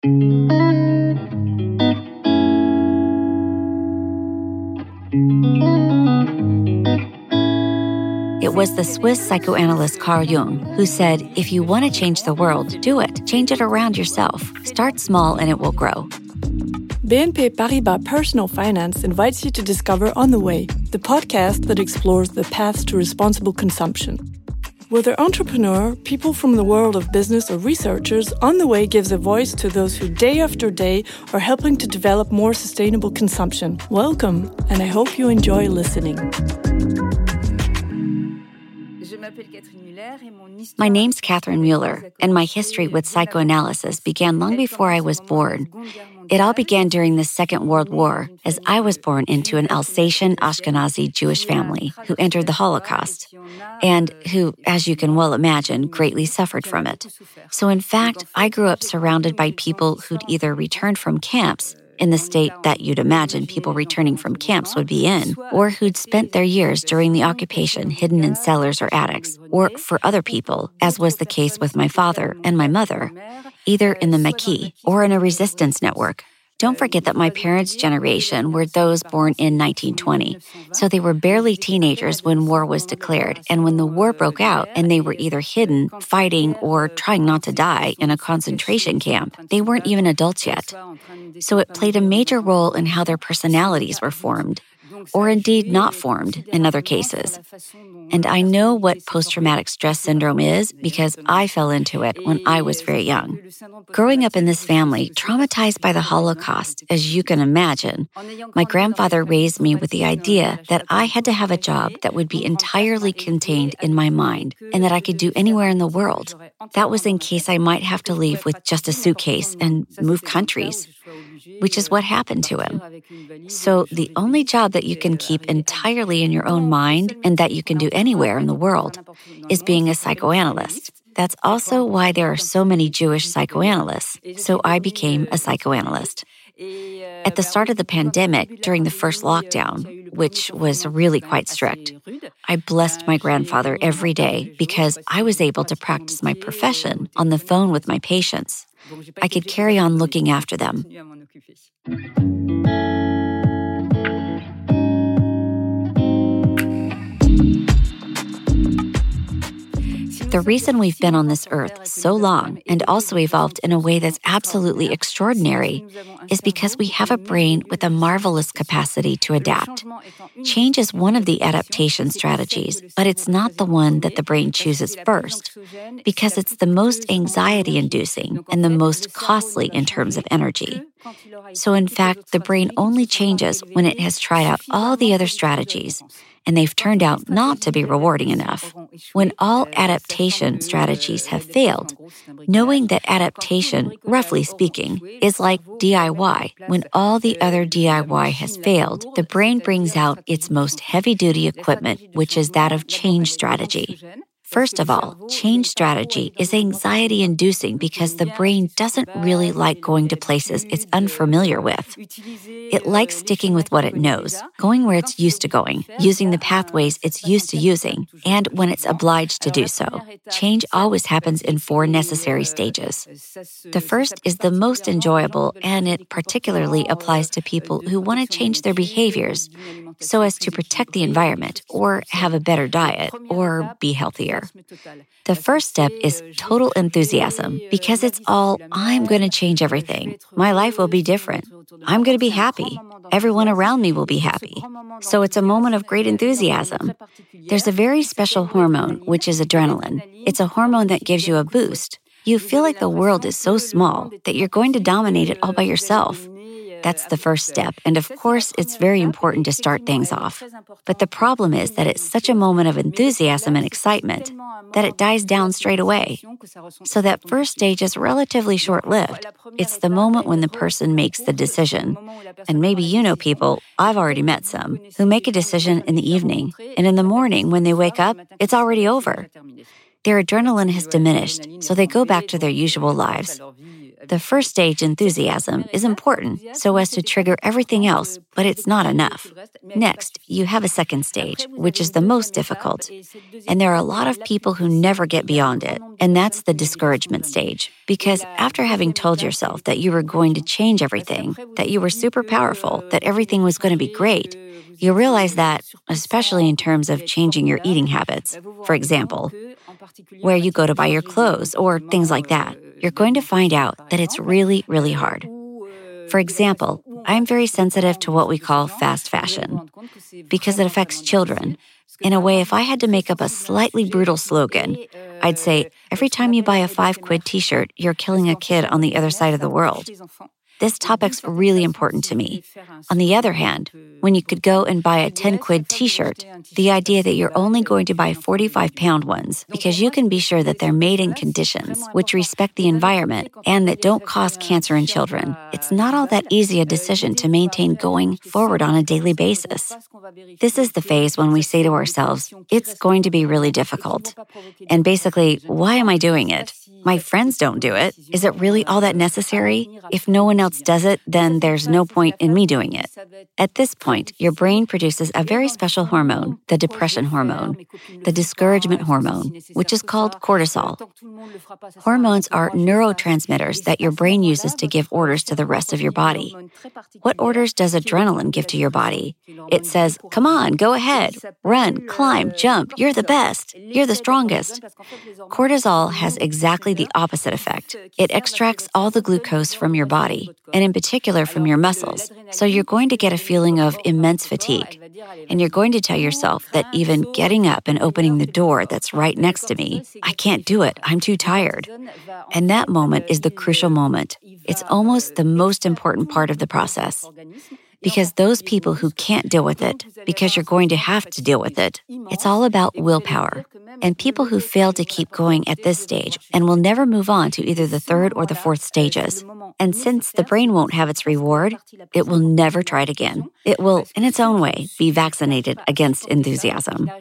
It was the Swiss psychoanalyst Carl Jung who said, if you want to change the world, do it. Change it around yourself. Start small and it will grow. BNP Paribas Personal Finance invites you to discover On the Way, the podcast that explores the paths to responsible consumption. Whether entrepreneur, people from the world of business, or researchers, On the Way gives a voice to those who day after day are helping to develop more sustainable consumption. Welcome, and I hope you enjoy listening. My name's Catherine Mueller, and my history with psychoanalysis began long before I was born. It all began during the Second World War, as I was born into an Alsatian Ashkenazi Jewish family who entered the Holocaust, and who, as you can well imagine, greatly suffered from it. So in fact, I grew up surrounded by people who'd either returned from camps, in the state that you'd imagine people returning from camps would be in, or who'd spent their years during the occupation hidden in cellars or attics, or for other people, as was the case with my father and my mother, either in the Maquis or in a resistance network. Don't forget that my parents' generation were those born in 1920, so they were barely teenagers when war was declared, and when the war broke out and they were either hidden, fighting, or trying not to die in a concentration camp, they weren't even adults yet. So it played a major role in how their personalities were formed, or indeed not formed in other cases. And I know what post-traumatic stress syndrome is because I fell into it when I was very young. Growing up in this family, traumatized by the Holocaust, as you can imagine, my grandfather raised me with the idea that I had to have a job that would be entirely contained in my mind and that I could do anywhere in the world. That was in case I might have to leave with just a suitcase and move countries, which is what happened to him. So the only job that you can keep entirely in your own mind and that you can do anywhere in the world is being a psychoanalyst. That's also why there are so many Jewish psychoanalysts. So I became a psychoanalyst. At the start of the pandemic, during the first lockdown, which was really quite strict, I blessed my grandfather every day because I was able to practice my profession on the phone with my patients. I could carry on looking after them. The reason we've been on this earth so long and also evolved in a way that's absolutely extraordinary is because we have a brain with a marvelous capacity to adapt. Change is one of the adaptation strategies, but it's not the one that the brain chooses first because it's the most anxiety-inducing and the most costly in terms of energy. So in fact, the brain only changes when it has tried out all the other strategies, and they've turned out not to be rewarding enough. When all adaptation strategies have failed, knowing that adaptation, roughly speaking, is like DIY, when all the other DIY has failed, the brain brings out its most heavy-duty equipment, which is that of change strategy. First of all, change strategy is anxiety-inducing because the brain doesn't really like going to places it's unfamiliar with. It likes sticking with what it knows, going where it's used to going, using the pathways it's used to using, and when it's obliged to do so. Change always happens in 4 necessary stages. The first is the most enjoyable, and it particularly applies to people who want to change their behaviors so as to protect the environment, or have a better diet, or be healthier. The first step is total enthusiasm, because it's all, I'm going to change everything. My life will be different. I'm going to be happy. Everyone around me will be happy. So it's a moment of great enthusiasm. There's a very special hormone, which is adrenaline. It's a hormone that gives you a boost. You feel like the world is so small that you're going to dominate it all by yourself. That's the first step, and of course, it's very important to start things off. But the problem is that it's such a moment of enthusiasm and excitement that it dies down straight away. So that first stage is relatively short-lived. It's the moment when the person makes the decision. And maybe you know people, I've already met some, who make a decision in the evening, and in the morning when they wake up, it's already over. Their adrenaline has diminished, so they go back to their usual lives. The first stage, enthusiasm, is important so as to trigger everything else, but it's not enough. Next, you have a second stage, which is the most difficult. And there are a lot of people who never get beyond it, and that's the discouragement stage. Because after having told yourself that you were going to change everything, that you were super powerful, that everything was going to be great, you realize that, especially in terms of changing your eating habits, for example, where you go to buy your clothes or things like that, you're going to find out that it's really, really hard. For example, I'm very sensitive to what we call fast fashion because it affects children. In a way, if I had to make up a slightly brutal slogan, I'd say, every time you buy a 5-quid t-shirt, you're killing a kid on the other side of the world. This topic's really important to me. On the other hand, when you could go and buy a 10-quid t-shirt, the idea that you're only going to buy 45-pound ones because you can be sure that they're made in conditions which respect the environment and that don't cause cancer in children, it's not all that easy a decision to maintain going forward on a daily basis. This is the phase when we say to ourselves, it's going to be really difficult. And basically, why am I doing it? My friends don't do it. Is it really all that necessary? If no one else does it, then there's no point in me doing it. At this point, your brain produces a very special hormone, the depression hormone, the discouragement hormone, which is called cortisol. Hormones are neurotransmitters that your brain uses to give orders to the rest of your body. What orders does adrenaline give to your body? It says, come on, go ahead, run, climb, jump, you're the best, you're the strongest. Cortisol has exactly the opposite effect. It extracts all the glucose from your body, and in particular from your muscles. So you're going to get a feeling of immense fatigue. And you're going to tell yourself that even getting up and opening the door that's right next to me, I can't do it, I'm too tired. And that moment is the crucial moment. It's almost the most important part of the process. Because those people who can't deal with it, because you're going to have to deal with it, it's all about willpower. And people who fail to keep going at this stage and will never move on to either the third or the fourth stages. And since the brain won't have its reward, it will never try it again. It will, in its own way, be vaccinated against enthusiasm.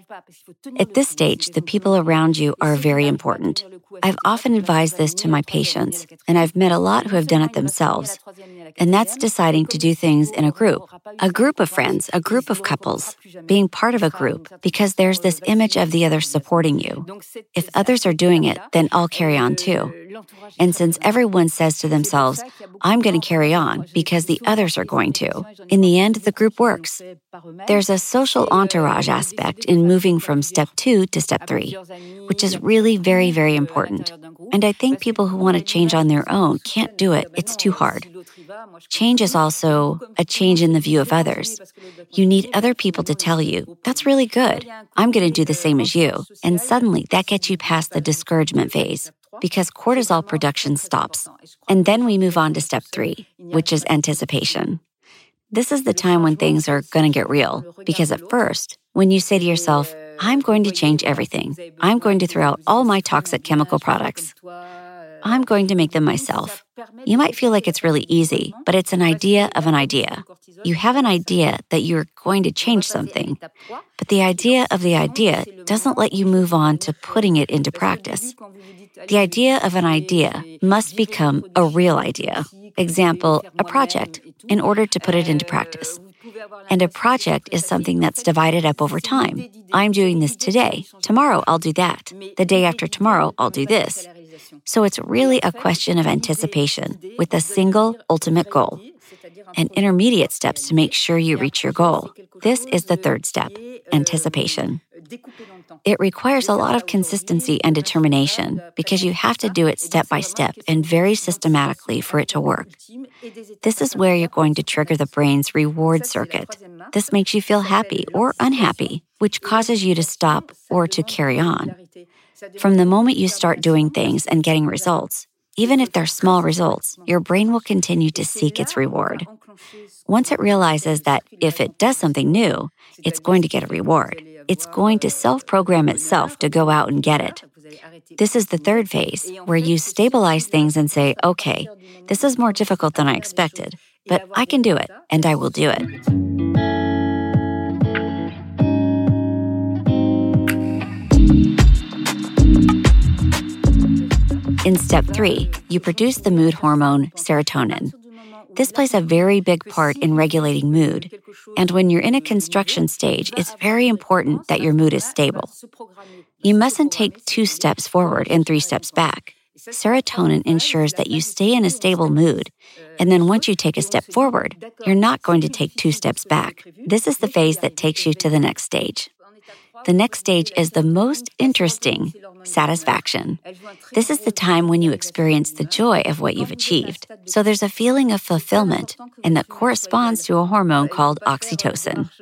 At this stage, the people around you are very important. I've often advised this to my patients, and I've met a lot who have done it themselves. And that's deciding to do things in a group of friends, a group of couples, being part of a group, because there's this image of the others supporting you. If others are doing it, then I'll carry on too. And since everyone says to themselves, I'm going to carry on because the others are going to, in the end, the group works. There's a social entourage aspect in moving from step 2 to step 3, which is really very, very important. And I think people who want to change on their own can't do it. It's too hard. Change is also a change in the view of others. You need other people to tell you, that's really good. I'm going to do the same as you. And suddenly that gets you past the discouragement phase because cortisol production stops. And then we move on to step 3, which is anticipation. This is the time when things are going to get real because at first, when you say to yourself, I'm going to change everything. I'm going to throw out all my toxic chemical products. I'm going to make them myself. You might feel like it's really easy, but it's an idea of an idea. You have an idea that you're going to change something, but the idea of the idea doesn't let you move on to putting it into practice. The idea of an idea must become a real idea. Example, a project, in order to put it into practice. And a project is something that's divided up over time. I'm doing this today. Tomorrow, I'll do that. The day after tomorrow, I'll do this. So it's really a question of anticipation with a single ultimate goal and intermediate steps to make sure you reach your goal. This is the third step, anticipation. It requires a lot of consistency and determination because you have to do it step by step and very systematically for it to work. This is where you're going to trigger the brain's reward circuit. This makes you feel happy or unhappy, which causes you to stop or to carry on. From the moment you start doing things and getting results, even if they're small results, your brain will continue to seek its reward. Once it realizes that if it does something new, it's going to get a reward. It's going to self-program itself to go out and get it. This is the third phase, where you stabilize things and say, okay, this is more difficult than I expected, but I can do it, and I will do it. In step 3, you produce the mood hormone serotonin. This plays a very big part in regulating mood, and when you're in a construction stage, it's very important that your mood is stable. You mustn't take 2 steps forward and 3 steps back. Serotonin ensures that you stay in a stable mood, and then once you take a step forward, you're not going to take 2 steps back. This is the phase that takes you to the next stage. The next stage is the most interesting, satisfaction. This is the time when you experience the joy of what you've achieved. So there's a feeling of fulfillment, and that corresponds to a hormone called oxytocin.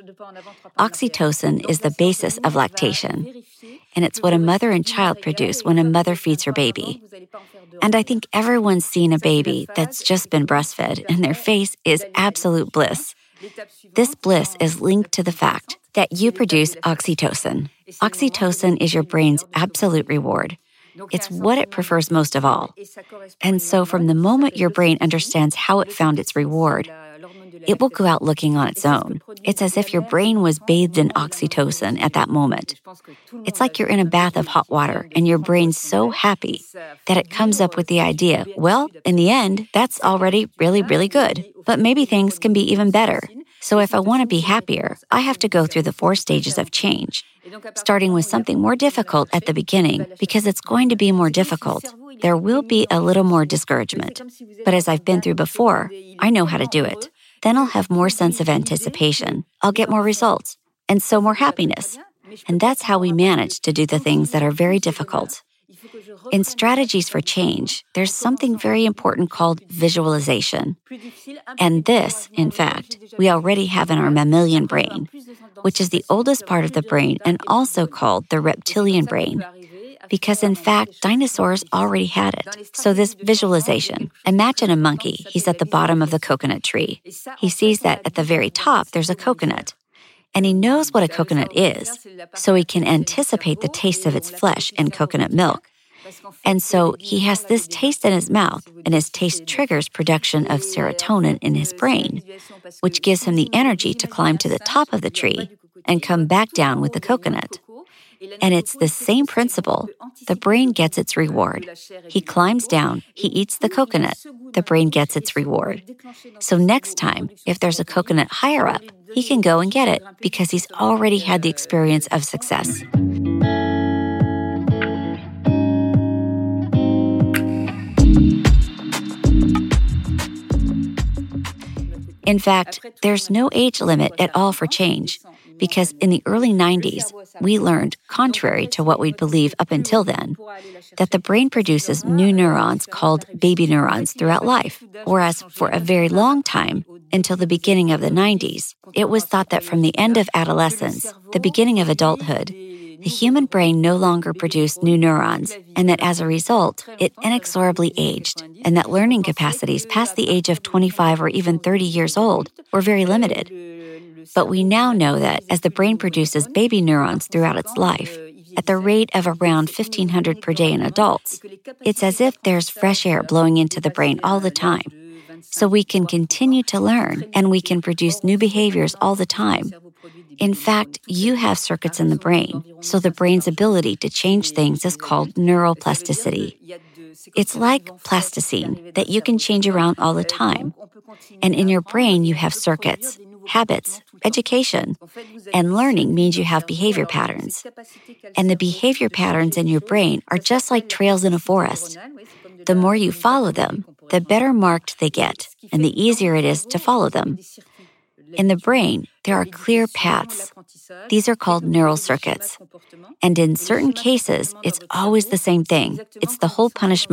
Oxytocin is the basis of lactation, and it's what a mother and child produce when a mother feeds her baby. And I think everyone's seen a baby that's just been breastfed, and their face is absolute bliss. This bliss is linked to the fact that you produce oxytocin. Oxytocin is your brain's absolute reward. It's what it prefers most of all. And so from the moment your brain understands how it found its reward, it will go out looking on its own. It's as if your brain was bathed in oxytocin at that moment. It's like you're in a bath of hot water and your brain's so happy that it comes up with the idea, well, in the end, that's already really, really good. But maybe things can be even better. So if I want to be happier, I have to go through the 4 stages of change, starting with something more difficult at the beginning, because it's going to be more difficult. There will be a little more discouragement. But as I've been through before, I know how to do it. Then I'll have more sense of anticipation. I'll get more results, and so more happiness. And that's how we manage to do the things that are very difficult. In strategies for change, there's something very important called visualization. And this, in fact, we already have in our mammalian brain, which is the oldest part of the brain and also called the reptilian brain. Because in fact, dinosaurs already had it. So this visualization, imagine a monkey, he's at the bottom of the coconut tree. He sees that at the very top, there's a coconut. And he knows what a coconut is, so he can anticipate the taste of its flesh and coconut milk. And so he has this taste in his mouth, and his taste triggers production of serotonin in his brain, which gives him the energy to climb to the top of the tree and come back down with the coconut. And it's the same principle. The brain gets its reward. He climbs down, he eats the coconut, the brain gets its reward. So next time, if there's a coconut higher up, he can go and get it because he's already had the experience of success. In fact, there's no age limit at all for change, because in the early 90s, we learned, contrary to what we'd believed up until then, that the brain produces new neurons called baby neurons throughout life, whereas for a very long time, until the beginning of the 90s, it was thought that from the end of adolescence, the beginning of adulthood, the human brain no longer produced new neurons, and that as a result, it inexorably aged, and that learning capacities past the age of 25 or even 30 years old were very limited. But we now know that as the brain produces baby neurons throughout its life, at the rate of around 1,500 per day in adults, it's as if there's fresh air blowing into the brain all the time. So we can continue to learn, and we can produce new behaviors all the time. In fact, you have circuits in the brain, so the brain's ability to change things is called neuroplasticity. It's like plasticine that you can change around all the time. And in your brain, you have circuits, habits, education, and learning means you have behavior patterns. And the behavior patterns in your brain are just like trails in a forest. The more you follow them, the better marked they get, and the easier it is to follow them. In the brain, there are clear paths. These are called neural circuits. And in certain cases, it's always the same thing. It's the whole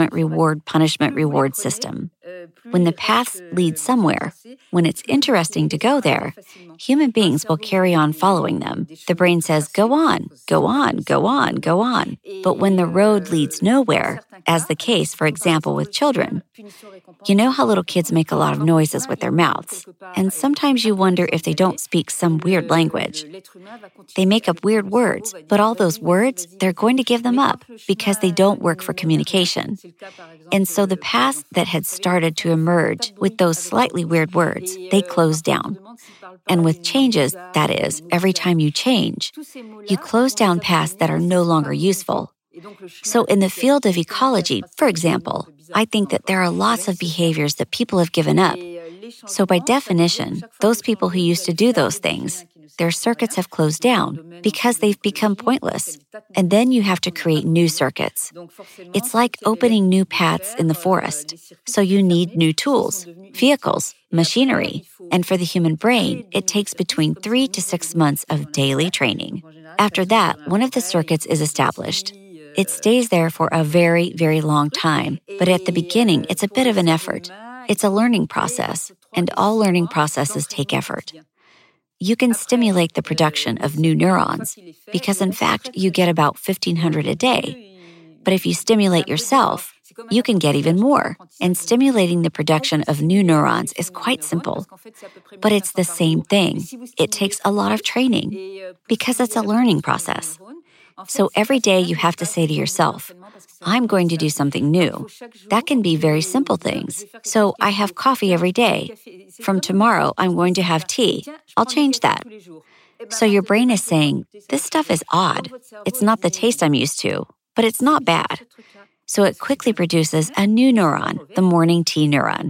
punishment-reward system. When the paths lead somewhere, when it's interesting to go there, human beings will carry on following them. The brain says, go on, go on, go on, go on. But when the road leads nowhere, as the case, for example, with children, you know how little kids make a lot of noises with their mouths, and sometimes you wonder if they don't speak some weird language. They make up weird words, but all those words, they're going to give them up because they don't work for communication. And so the paths that had started to emerge with those slightly weird words, they close down. And with changes, that is, every time you change, you close down paths that are no longer useful. So in the field of ecology, for example, I think that there are lots of behaviors that people have given up. So by definition, those people who used to do those things, their circuits have closed down because they've become pointless. And then you have to create new circuits. It's like opening new paths in the forest. So you need new tools, vehicles, machinery. And for the human brain, it takes between 3 to 6 months of daily training. After that, one of the circuits is established. It stays there for a very, very long time. But at the beginning, it's a bit of an effort. It's a learning process, and all learning processes take effort. You can stimulate the production of new neurons because, in fact, you get about 1,500 a day. But if you stimulate yourself, you can get even more. And stimulating the production of new neurons is quite simple. But it's the same thing. It takes a lot of training because it's a learning process. So every day you have to say to yourself, I'm going to do something new. That can be very simple things. So I have coffee every day. From tomorrow, I'm going to have tea. I'll change that. So your brain is saying, this stuff is odd. It's not the taste I'm used to, but it's not bad. So it quickly produces a new neuron, the morning tea neuron.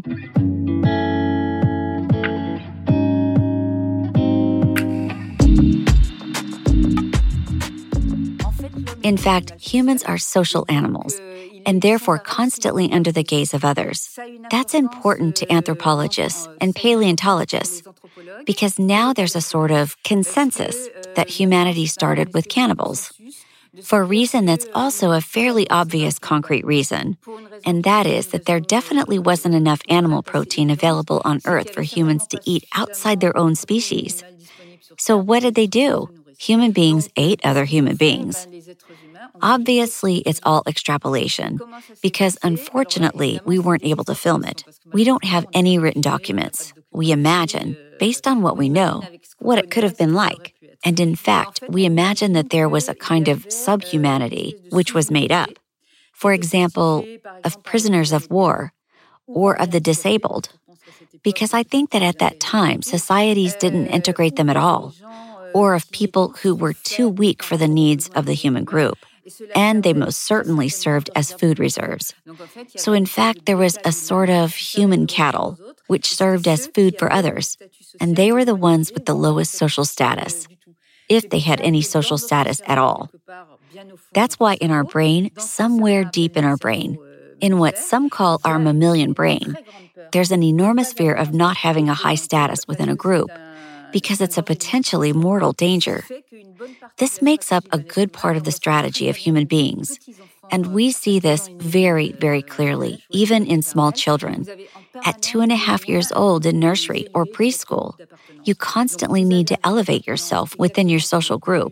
In fact, humans are social animals, and therefore constantly under the gaze of others. That's important to anthropologists and paleontologists, because now there's a sort of consensus that humanity started with cannibals, for a reason that's also a fairly obvious concrete reason, and that is that there definitely wasn't enough animal protein available on Earth for humans to eat outside their own species. So what did they do? Human beings ate other human beings. Obviously, it's all extrapolation, because unfortunately, we weren't able to film it. We don't have any written documents. We imagine, based on what we know, what it could have been like. And in fact, we imagine that there was a kind of subhumanity, which was made up. For example, of prisoners of war, or of the disabled. Because I think that at that time, societies didn't integrate them at all, or of people who were too weak for the needs of the human group. And they most certainly served as food reserves. So in fact, there was a sort of human cattle, which served as food for others, and they were the ones with the lowest social status, if they had any social status at all. That's why in our brain, somewhere deep in our brain, in what some call our mammalian brain, there's an enormous fear of not having a high status within a group, because it's a potentially mortal danger. This makes up a good part of the strategy of human beings, and we see this very, very clearly, even in small children. At 2.5 years old in nursery or preschool, you constantly need to elevate yourself within your social group.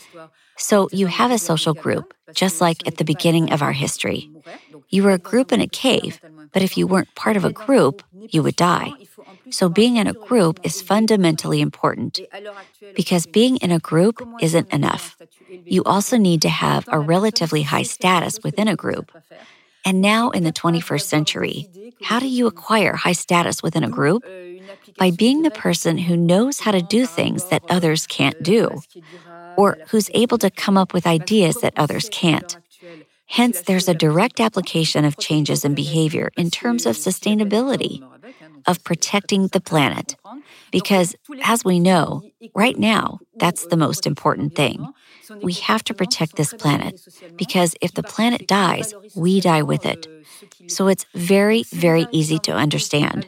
So you have a social group, just like at the beginning of our history. You were a group in a cave, but if you weren't part of a group, you would die. So being in a group is fundamentally important, because being in a group isn't enough. You also need to have a relatively high status within a group. And now in the 21st century, how do you acquire high status within a group? By being the person who knows how to do things that others can't do, or who's able to come up with ideas that others can't. Hence, there's a direct application of changes in behavior in terms of sustainability, of protecting the planet. Because, as we know, right now, that's the most important thing. We have to protect this planet, because if the planet dies, we die with it. So it's very, very easy to understand.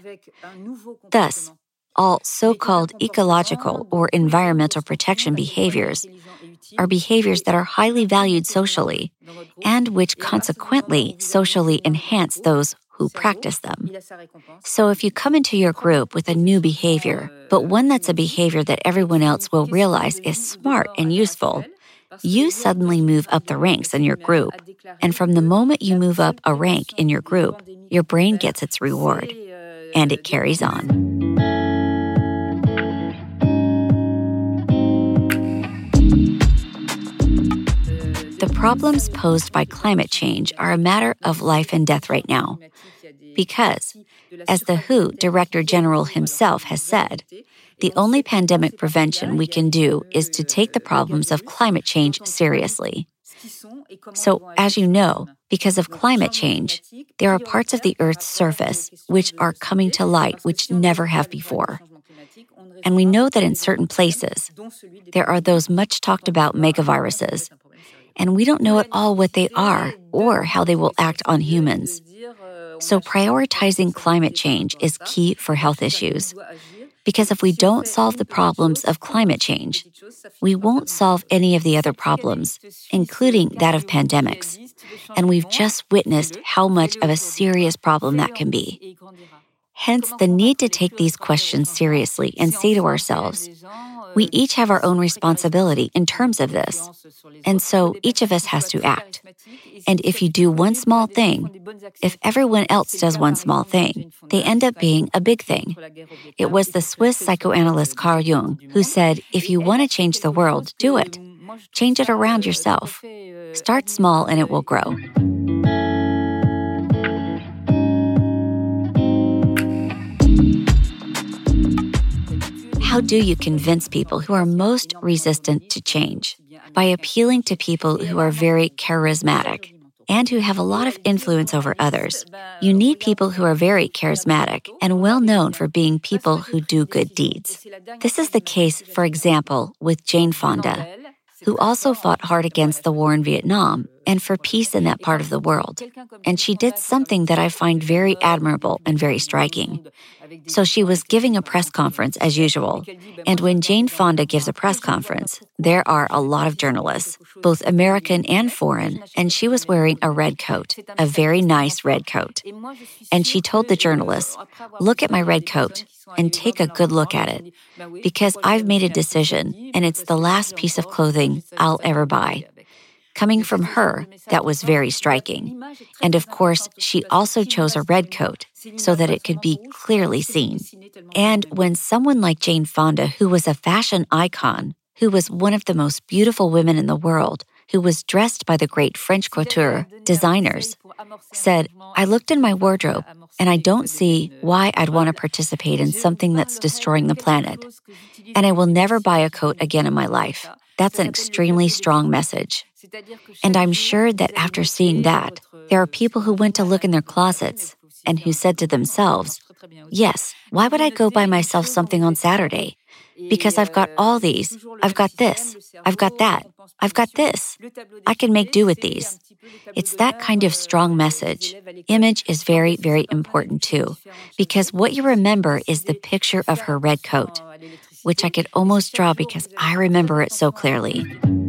Thus, all so-called ecological or environmental protection behaviors are behaviors that are highly valued socially, and which consequently socially enhance those who practice them. So if you come into your group with a new behavior, but one that's a behavior that everyone else will realize is smart and useful, you suddenly move up the ranks in your group. And from the moment you move up a rank in your group, your brain gets its reward, and it carries on. The problems posed by climate change are a matter of life and death right now. Because, as the WHO Director General himself has said, the only pandemic prevention we can do is to take the problems of climate change seriously. So, as you know, because of climate change, there are parts of the Earth's surface which are coming to light which never have before. And we know that in certain places, there are those much talked about megaviruses, and we don't know at all what they are or how they will act on humans. So prioritizing climate change is key for health issues. Because if we don't solve the problems of climate change, we won't solve any of the other problems, including that of pandemics. And we've just witnessed how much of a serious problem that can be. Hence, the need to take these questions seriously and say to ourselves, we each have our own responsibility in terms of this. And so each of us has to act. And if you do one small thing, if everyone else does one small thing, they end up being a big thing. It was the Swiss psychoanalyst Carl Jung who said, if you want to change the world, do it. Change it around yourself. Start small and it will grow. How do you convince people who are most resistant to change? By appealing to people who are very charismatic and who have a lot of influence over others. You need people who are very charismatic and well known for being people who do good deeds. This is the case, for example, with Jane Fonda, who also fought hard against the war in Vietnam and for peace in that part of the world. And she did something that I find very admirable and very striking. So she was giving a press conference as usual. And when Jane Fonda gives a press conference, there are a lot of journalists, both American and foreign, and she was wearing a red coat, a very nice red coat. And she told the journalists, look at my red coat and take a good look at it, because I've made a decision and it's the last piece of clothing I'll ever buy. Coming from her, that was very striking. And of course, she also chose a red coat so that it could be clearly seen. And when someone like Jane Fonda, who was a fashion icon, who was one of the most beautiful women in the world, who was dressed by the great French couture designers, said, I looked in my wardrobe and I don't see why I'd want to participate in something that's destroying the planet. And I will never buy a coat again in my life. That's an extremely strong message. And I'm sure that after seeing that, there are people who went to look in their closets and who said to themselves, yes, why would I go buy myself something on Saturday? Because I've got all these. I've got this. I've got that. I've got this. I can make do with these. It's that kind of strong message. Image is very, very important too, because what you remember is the picture of her red coat, which I could almost draw because I remember it so clearly.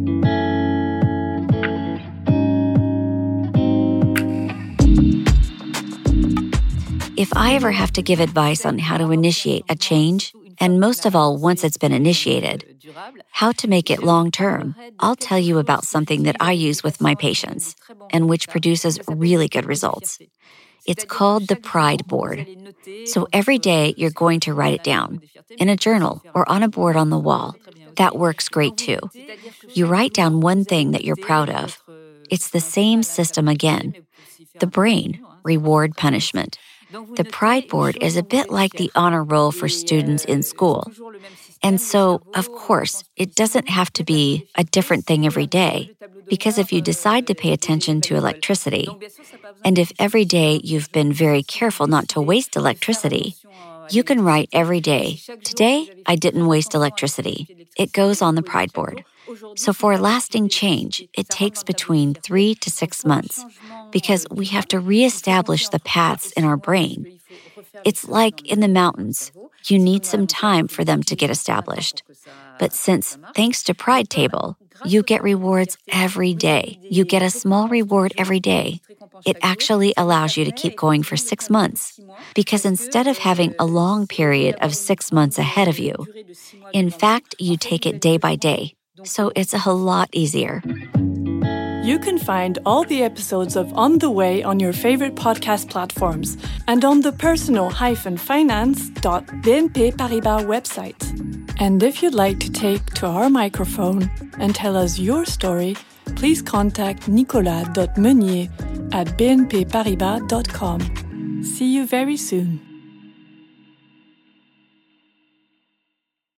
If I ever have to give advice on how to initiate a change, and most of all, once it's been initiated, how to make it long-term, I'll tell you about something that I use with my patients and which produces really good results. It's called the Pride Board. So every day you're going to write it down in a journal or on a board on the wall. That works great too. You write down one thing that you're proud of. It's the same system again. The brain, reward, punishment. The Pride Board is a bit like the honor roll for students in school. And so, of course, it doesn't have to be a different thing every day, because if you decide to pay attention to electricity, and if every day you've been very careful not to waste electricity, you can write every day, today I didn't waste electricity. It goes on the Pride Board. So for a lasting change, it takes between 3 to 6 months because we have to reestablish the paths in our brain. It's like in the mountains. You need some time for them to get established. But since, thanks to Pride Table, you get rewards every day. You get a small reward every day. It actually allows you to keep going for 6 months because instead of having a long period of 6 months ahead of you, in fact, you take it day by day. So it's a lot easier. You can find all the episodes of On the Way on your favorite podcast platforms and on the personal-finance.bnp Paribas website. And if you'd like to take to our microphone and tell us your story, please contact nicolas.meunier@bnpparibas.com. See you very soon.